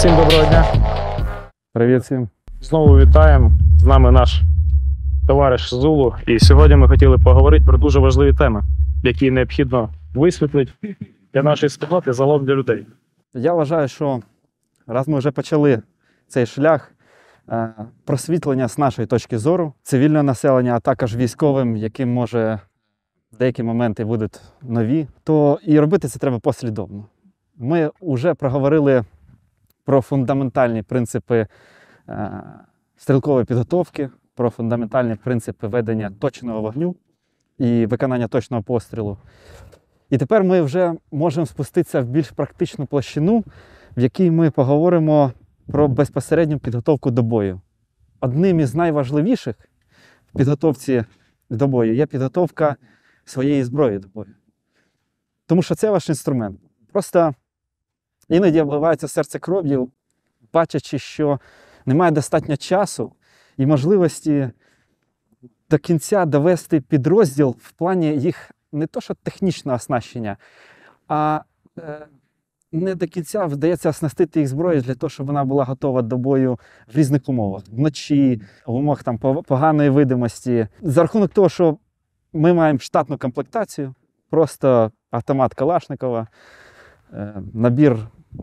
Всім доброго дня. Привіт всім. Знову вітаємо. З нами наш товариш Зулу. І сьогодні ми хотіли поговорити про дуже важливі теми, які необхідно висвітлити для нашої спільноти, загалом для людей. Я вважаю, що раз ми вже почали цей шлях просвітлення з нашої точки зору, цивільне населення, а також військовим, яким може в деякі моменти будуть нові, то і робити це треба послідовно. Ми вже проговорили про фундаментальні принципи стрілкової підготовки, про фундаментальні принципи ведення точного вогню і виконання точного пострілу. І тепер ми вже можемо спуститися в більш практичну площину, в якій ми поговоримо про безпосередню підготовку до бою. Одним із найважливіших в підготовці до бою є підготовка своєї зброї до бою. Тому що це ваш інструмент. Просто іноді обливається серце кров'ю, бачачи, що немає достатньо часу і можливості до кінця довести підрозділ в плані їх не то що технічного оснащення, а не до кінця вдається оснастити їх зброєю для того, щоб вона була готова до бою в різних умовах. Вночі, в умовах там, поганої видимості. За рахунок того, що ми маємо штатну комплектацію, просто автомат Калашникова, набір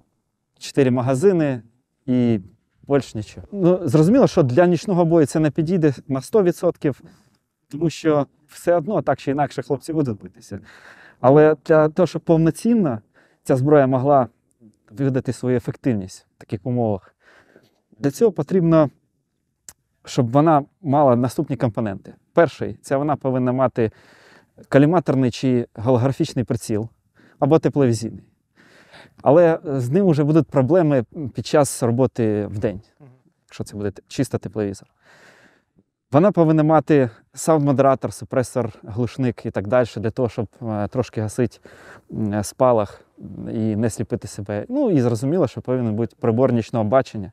4 магазини і більше нічого. Ну, зрозуміло, що для нічного бою це не підійде на 100%, тому що все одно так чи інакше хлопці будуть битися. Але для того, щоб повноцінно ця зброя могла видати свою ефективність в таких умовах, для цього потрібно, щоб вона мала наступні компоненти. Перший – це вона повинна мати коліматорний чи голографічний приціл або тепловізійний. Але з ним вже будуть проблеми під час роботи вдень, якщо це буде чисто тепловізор. Вона повинна мати саунд-модератор, супресор, глушник і так далі, для того, щоб трошки гасити спалах і не сліпити себе. Ну і зрозуміло, що повинен бути прибор нічного бачення.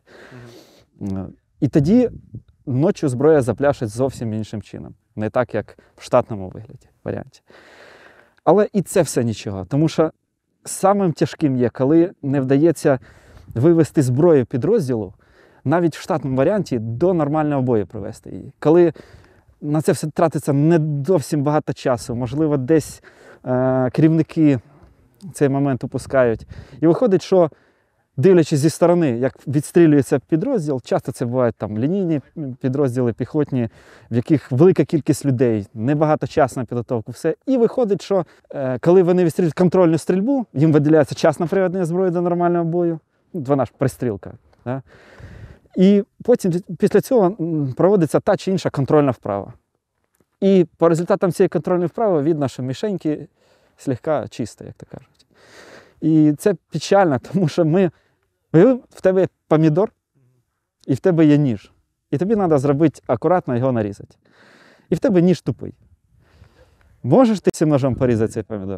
І тоді ночі зброя запляшить зовсім іншим чином. Не так, як в штатному варіанті. Але і це все нічого, тому що самим тяжким є, коли не вдається вивести зброю підрозділу, навіть в штатному варіанті, до нормального бою привести її. Коли на це все тратиться не зовсім багато часу, можливо, десь керівники цей момент упускають. І виходить, що, дивлячись зі сторони, як відстрілюється підрозділ, часто це бувають там лінійні підрозділи, піхотні, в яких велика кількість людей, небагато часу на підготовку, все. І виходить, що коли вони відстрілюють контрольну стрільбу, їм виділяється час на приведення зброї до нормального бою, вона ж пристрілка. Да? І потім після цього проводиться та чи інша контрольна вправа. І по результатам цієї контрольної вправи видно, що мішеньки слегка чисто, як то кажуть. І це печально, тому що в тебе є помідор, і в тебе є ніж. І тобі треба зробити акуратно його нарізати. І в тебе ніж тупий. Можеш ти цим ножом порізати цей помідор?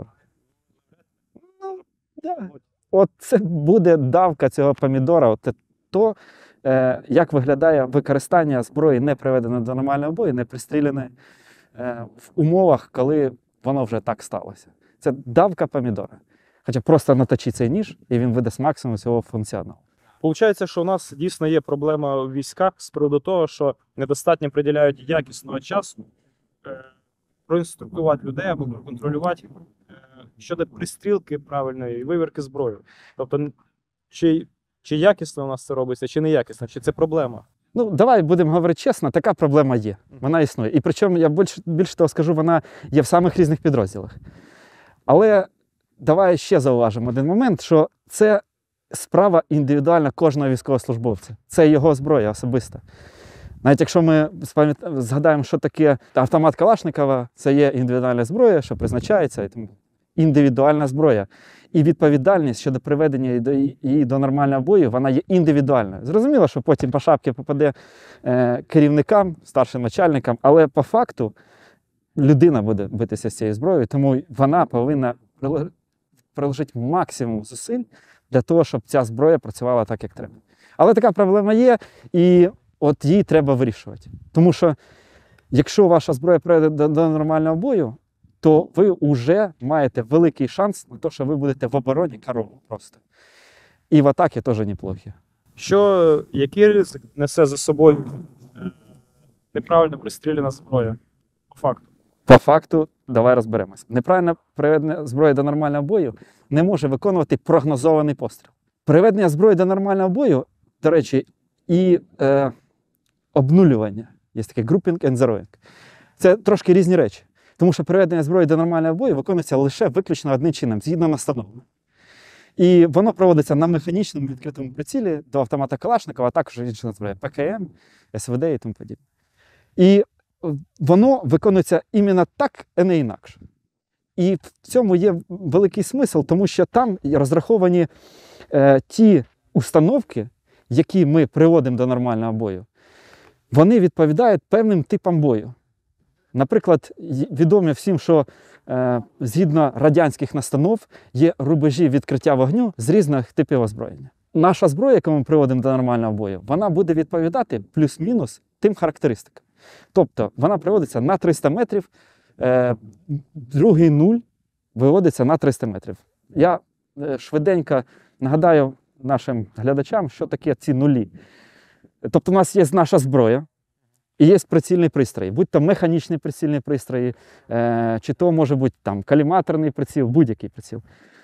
Ну, да. От це буде давка цього помідора, от то, як виглядає використання зброї, не приведеної до нормального бою, не пристріляної в умовах, коли воно вже так сталося. Це давка помідора. Хоча просто наточи цей ніж, і він видасть максимум цього функціоналу. Получається, що у нас дійсно є проблема в військах з приводу того, що недостатньо приділяють якісного часу проінструктувати людей або проконтролювати щодо пристрілки правильної і вивірки зброї. Тобто, чи якісно у нас це робиться, чи не якісно, чи це проблема? Ну, давай будемо говорити чесно, така проблема є. Вона існує. І причому, я більше того скажу, вона є в самих різних підрозділах. Але давай ще зауважимо один момент, що це справа індивідуальна кожного військовослужбовця. Це його зброя особиста. Навіть якщо ми згадаємо, що таке автомат Калашникова, це є індивідуальна зброя, що призначається, індивідуальна зброя. І відповідальність щодо приведення її до нормального бою, вона є індивідуальною. Зрозуміло, що потім по шапці попаде керівникам, старшим начальникам, але по факту людина буде битися з цією зброєю, тому вона повинна приложити максимум зусиль для того, щоб ця зброя працювала так, як треба. Але така проблема є, і от її треба вирішувати. Тому що, якщо ваша зброя прийде до нормального бою, то ви вже маєте великий шанс на те, що ви будете в обороні корову просто. І в атаки теж неплохі. Який ризик несе за собою неправильно пристріляна зброя? По факту. По факту, давай розберемось. Неправильне приведення зброї до нормального бою не може виконувати прогнозований постріл. Приведення зброї до нормального бою, до речі, і обнулювання. Є таке grouping and zeroing. Це трошки різні речі. Тому що приведення зброї до нормального бою виконується лише виключно одним чином, згідно настанови. І воно проводиться на механічному відкритому прицілі до автомата Калашникова, а також інших зброї ПКМ, СВД і тому подібне. І воно виконується іменно так, а не інакше. І в цьому є великий смисл, тому що там розраховані ті установки, які ми приводимо до нормального бою, вони відповідають певним типам бою. Наприклад, відомо всім, що згідно радянських настанов є рубежі відкриття вогню з різних типів озброєння. Наша зброя, яку ми приводимо до нормального бою, вона буде відповідати плюс-мінус тим характеристикам. Тобто вона приводиться на 300 метрів, другий нуль виводиться на 300 метрів. Я швиденько нагадаю нашим глядачам, що таке ці нулі. Тобто у нас є наша зброя і є прицільний пристрій, будь-то механічний прицільний пристрій, чи то може бути там коліматорний приціл, будь-який приціл.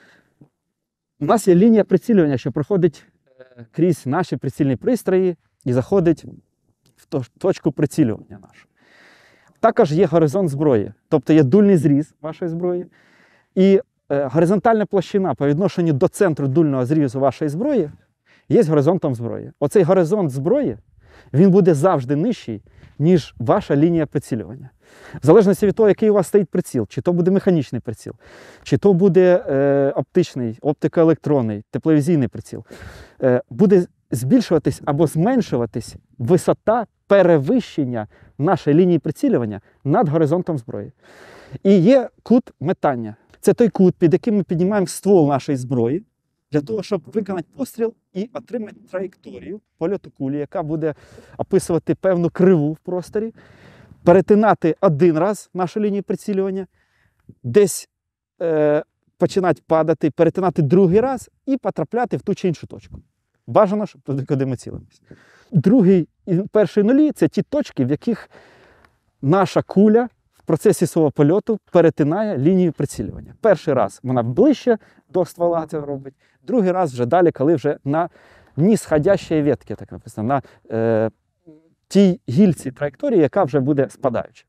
У нас є лінія прицілювання, що проходить крізь наші прицільні пристрої і заходить в точку прицілювання нашу. Також є горизонт зброї, тобто є дульний зріз вашої зброї, і горизонтальна площина по відношенню до центру дульного зрізу вашої зброї є горизонтом зброї. Оцей горизонт зброї, він буде завжди нижчий, ніж ваша лінія прицілювання. В залежності від того, який у вас стоїть приціл, чи то буде механічний приціл, чи то буде оптичний, оптикоелектронний, тепловізійний приціл, буде збільшуватись або зменшуватись висота перевищення нашої лінії прицілювання над горизонтом зброї. І є кут метання. Це той кут, під яким ми піднімаємо ствол нашої зброї, для того, щоб виконати постріл і отримати траєкторію польоту кулі, яка буде описувати певну криву в просторі, перетинати один раз нашу лінію прицілювання, десь починати падати, перетинати другий раз і потрапляти в ту чи іншу точку. Бажано, щоб туди, куди ми цілимося. Другий і перший нулі – це ті точки, в яких наша куля в процесі свого польоту перетинає лінію прицілювання. Перший раз вона ближче до ствола це робить, другий раз вже далі, коли вже на нісходящій ветці, так написано, на тій гільці траєкторії, яка вже буде спадаюча.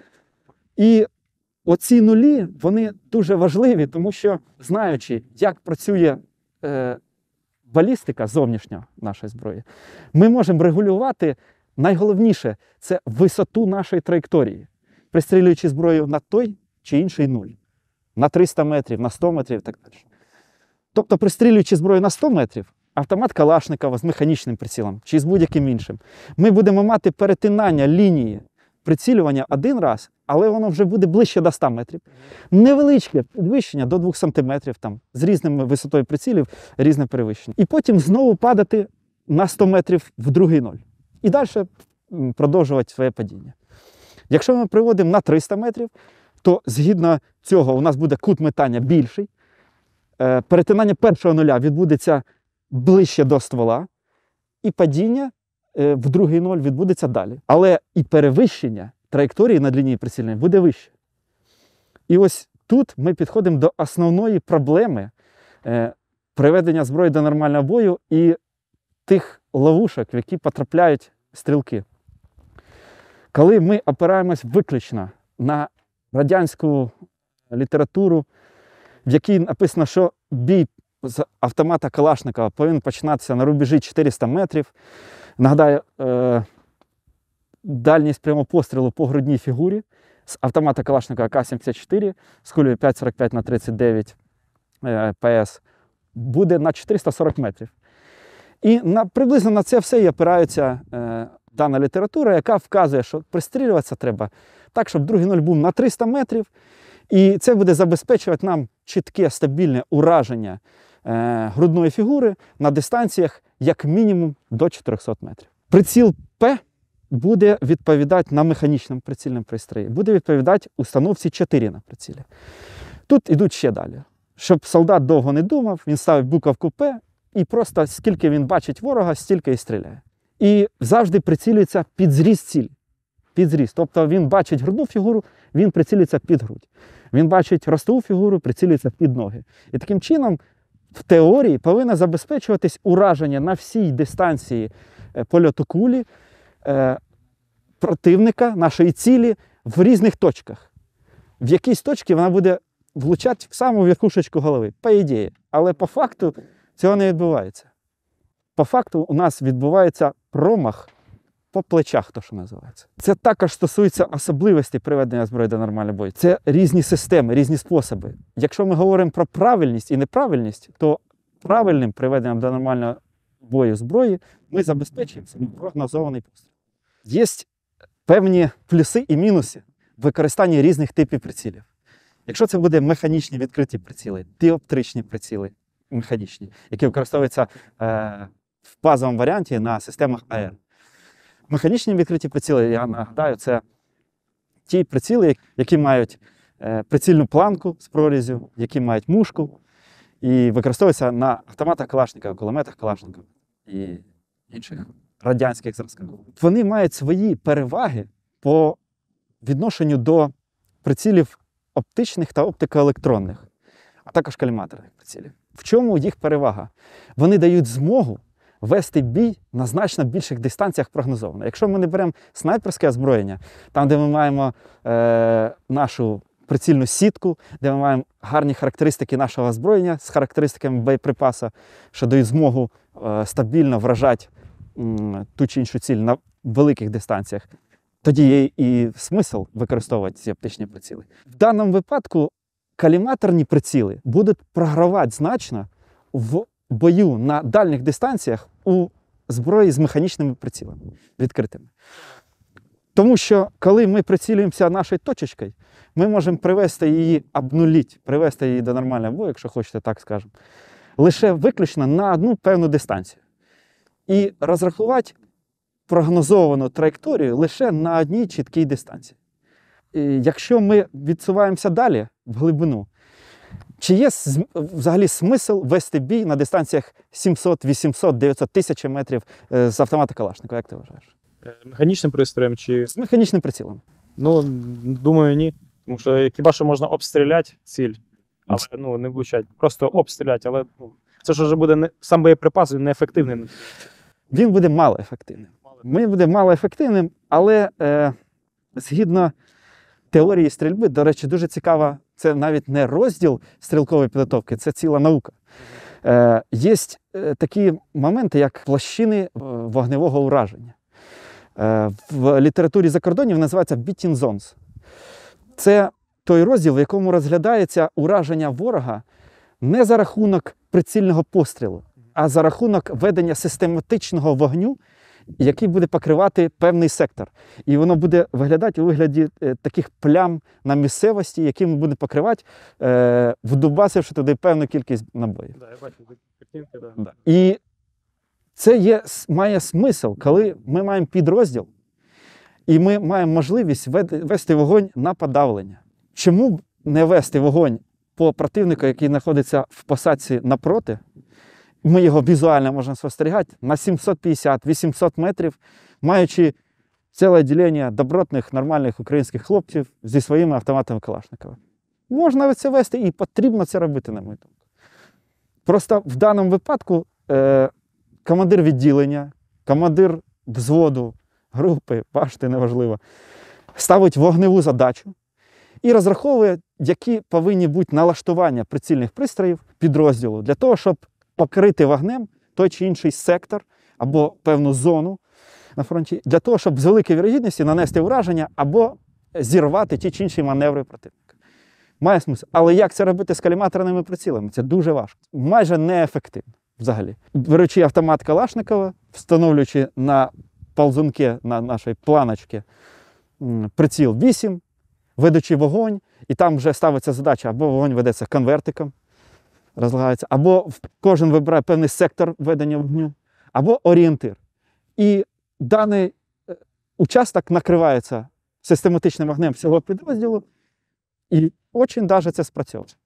І оці нулі, вони дуже важливі, тому що, знаючи, як працює балістика зовнішня нашої зброї, ми можемо регулювати, найголовніше, це висоту нашої траєкторії, пристрілюючи зброю на той чи інший нуль. На 300 метрів, на 100 метрів і так далі. Тобто, пристрілюючи зброю на 100 метрів, автомат Калашникова з механічним прицілом чи з будь-яким іншим, ми будемо мати перетинання лінії прицілювання один раз, але воно вже буде ближче до 100 метрів. Невеличке підвищення до 2 сантиметрів, там, з різними висотою прицілів, різне перевищення. І потім знову падати на 100 метрів в другий ноль. І далі продовжувати своє падіння. Якщо ми приводимо на 300 метрів, то згідно цього у нас буде кут метання більший. Перетинання першого нуля відбудеться ближче до ствола, і падіння в другий ноль відбудеться далі. Але і перевищення траєкторії над лінією прицільної буде вище. І ось тут ми підходимо до основної проблеми приведення зброї до нормального бою і тих ловушок, в які потрапляють стрілки. Коли ми опираємось виключно на радянську літературу, в якій написано, що бій з автомата Калашникова повинен починатися на рубежі 400 метрів. Нагадаю, дальність прямого пострілу по грудній фігурі з автомата Калашникова К-74 з кулею 5,45 на 39 ПС буде на 440 метрів. І приблизно на це все і опирається дана література, яка вказує, що пристрілюватися треба так, щоб другий нуль був на 300 метрів, і це буде забезпечувати нам чітке, стабільне ураження грудної фігури на дистанціях як мінімум до 400 метрів. Приціл П буде відповідати на механічному прицільному пристрої, буде відповідати установці 4 на прицілі. Тут йдуть ще далі. Щоб солдат довго не думав, він ставить буковку П і просто скільки він бачить ворога, стільки і стріляє. І завжди прицілюється під зріст цілі. Під зріст. Тобто він бачить грудну фігуру, він прицілюється під грудь. Він бачить ростову фігуру, прицілюється під ноги. І таким чином, в теорії повинно забезпечуватись ураження на всій дистанції польоту кулі противника, нашої цілі, в різних точках. В якійсь точці вона буде влучати в саму верхушечку голови, по ідеї. Але по факту цього не відбувається. По факту у нас відбувається промах по плечах, то що називається. Це також стосується особливостей приведення зброї до нормального бою. Це різні системи, різні способи. Якщо ми говоримо про правильність і неправильність, то правильним приведенням до нормального бою зброї ми забезпечуємо собі прогнозований постріл. Є певні плюси і мінуси в використанні різних типів прицілів. Якщо це буде механічні відкриті приціли, діоптричні приціли механічні, які використовуються в базовому варіанті на системах АР. Механічні відкриті приціли, я нагадаю, це ті приціли, які мають прицільну планку з прорізю, які мають мушку і використовуються на автоматах Калашникова, кулеметах Калашникова і інших радянських зразках. Вони мають свої переваги по відношенню до прицілів оптичних та оптикоелектронних, а також коліматорних прицілів. В чому їх перевага? Вони дають змогу вести бій на значно більших дистанціях прогнозовано. Якщо ми не беремо снайперське озброєння, там, де ми маємо нашу прицільну сітку, де ми маємо гарні характеристики нашого озброєння з характеристиками боєприпаса, що дають змогу стабільно вражати ту чи іншу ціль на великих дистанціях, тоді є і смисл використовувати ці оптичні приціли. В даному випадку коліматорні приціли будуть програвати значно в бою на дальніх дистанціях у зброї з механічними прицілами відкритими. Тому що, коли ми прицілюємося нашою точечкою, ми можемо привести її, обнулити, привести її до нормального бою, якщо хочете, так скажемо, лише виключно на одну певну дистанцію. І розрахувати прогнозовану траєкторію лише на одній чіткій дистанції. І якщо ми відсуваємося далі, в глибину, чи є взагалі смисл вести бій на дистанціях 700, 800, 900, 1000 метрів з автомата Калашникова, як ти вважаєш? Механічним пристроєм чи. З механічним прицілом. Ну, думаю, ні. Тому що хіба що можна обстріляти ціль, але не влучать. Просто обстріляти, але це ж вже буде сам боєприпас, він неефективний. Він буде малоефективним. Він буде малоефективним, але згідно теорії стрільби, до речі, дуже цікава, це навіть не розділ стрілкової підготовки, це ціла наука. Є такі моменти, як площини вогневого ураження. В літературі закордонів називається beating zones. Це той розділ, в якому розглядається ураження ворога не за рахунок прицільного пострілу, а за рахунок ведення систематичного вогню, який буде покривати певний сектор. І воно буде виглядати у вигляді таких плям на місцевості, які ми будемо покривати, вдубасивши туди певну кількість набоїв. Да, я бачу картинки, да. І це має смисл, коли ми маємо підрозділ, і ми маємо можливість вести вогонь на подавлення. Чому б не вести вогонь по противнику, який знаходиться в посадці напроти? Ми його візуально можемо спостерігати на 750-800 метрів, маючи ціле відділення добротних, нормальних українських хлопців зі своїми автоматами Калашникова. Можна це вести і потрібно це робити, на мою думку. Просто в даному випадку командир відділення, командир взводу, групи, бачите, неважливо, ставить вогневу задачу і розраховує, які повинні бути налаштування прицільних пристроїв підрозділу для того, щоб покрити вогнем той чи інший сектор або певну зону на фронті, для того, щоб з великою вірогідністю нанести ураження або зірвати ті чи інші маневри противника. Має смисл. Але як це робити з коліматорними прицілами? Це дуже важко. Майже неефективно взагалі. Беручи автомат Калашникова, встановлюючи на ползунки, на нашій планочці приціл 8, ведучи вогонь, і там вже ставиться задача, або вогонь ведеться конвертиком, розлагається, або кожен вибирає певний сектор ведення вогню, або орієнтир. І даний участок накривається систематичним вогнем всього підрозділу, і дуже це спрацьовує.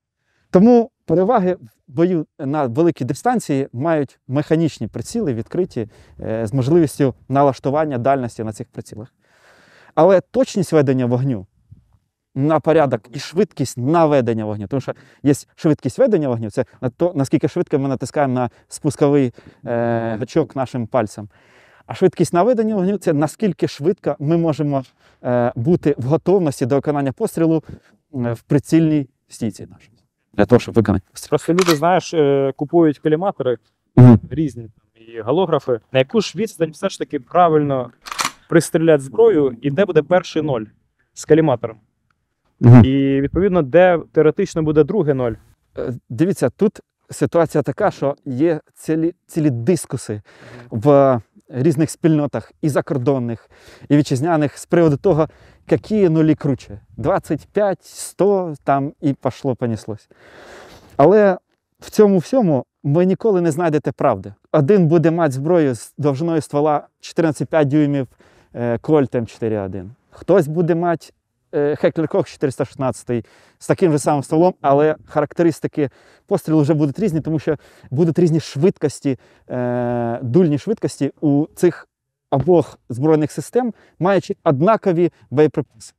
Тому переваги в бою на великій дистанції мають механічні приціли, відкриті, з можливістю налаштування дальності на цих прицілах. Але точність ведення вогню на порядок і швидкість наведення вогню. Тому що є швидкість ведення вогню, це то, наскільки швидко ми натискаємо на спусковий гачок нашим пальцем. А швидкість наведення вогню – це наскільки швидко ми можемо бути в готовності до виконання пострілу в прицільній стійці нашій. Для того, щоб виконати постріл. Просто люди, знаєш, купують коліматори різні там, і голографи. На яку ж відстань все ж таки правильно пристріляти зброю і де буде перший ноль з коліматором? І, відповідно, де теоретично буде другий ноль. Дивіться, тут ситуація така, що є цілі дискуси в різних спільнотах і закордонних, і вітчизняних з приводу того, які нулі круче. 25, 100, там і поніслось. Але в цьому всьому ви ніколи не знайдете правди. Один буде мати зброю з довжиною ствола 14,5 дюймів Кольт М4А1. Хтось буде мати Heckler Koch 416 з таким же самим стволом, але характеристики пострілу вже будуть різні, тому що будуть різні швидкості, дульні швидкості у цих обох збройних систем, маючи однакові боєприпаси.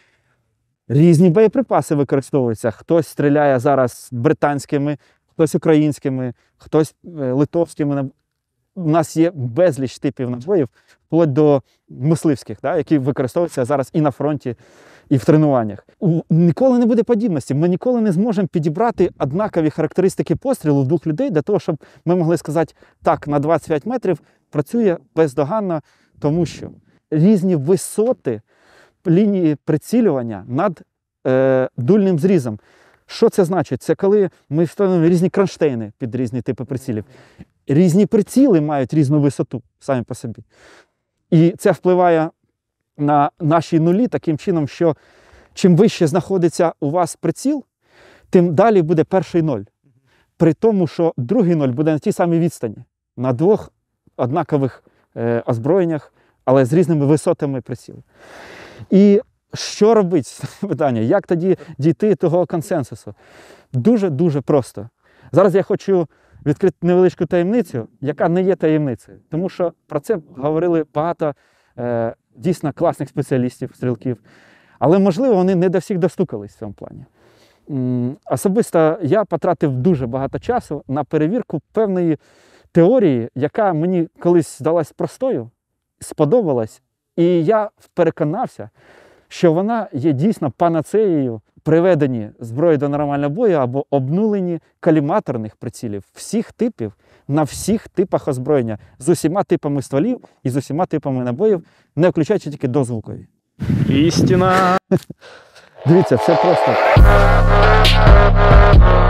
Різні боєприпаси використовуються. Хтось стріляє зараз британськими, хтось українськими, хтось литовськими. У нас є безліч типів набоїв, вплоть до мисливських, які використовуються зараз і на фронті, і в тренуваннях. Ніколи не буде подібності. Ми ніколи не зможемо підібрати однакові характеристики пострілу в двох людей для того, щоб ми могли сказати, так, на 25 метрів працює бездоганно, тому що різні висоти лінії прицілювання над дульним зрізом. Що це значить? Це коли ми встановлюємо різні кронштейни під різні типи прицілів. Різні приціли мають різну висоту самі по собі. І це впливає на наші нулі таким чином, що чим вище знаходиться у вас приціл, тим далі буде перший ноль. При тому, що другий ноль буде на тій самій відстані, на двох однакових озброєннях, але з різними висотами прицілу. І що робити? Питання, як тоді дійти до того консенсусу? Дуже-дуже просто. Зараз я хочу відкрити невеличку таємницю, яка не є таємницею. Тому що про це говорили багато дійсно класних спеціалістів, стрілків. Але, можливо, вони не до всіх достукались в цьому плані. Особисто я потратив дуже багато часу на перевірку певної теорії, яка мені колись здалась простою, сподобалась, і я переконався, що вона є дійсно панацеєю приведенні зброї до нормального бою або обнуленні коліматорних прицілів всіх типів на всіх типах озброєння, з усіма типами стволів і з усіма типами набоїв, не включаючи тільки дозвукові. Істина! Дивіться, все просто.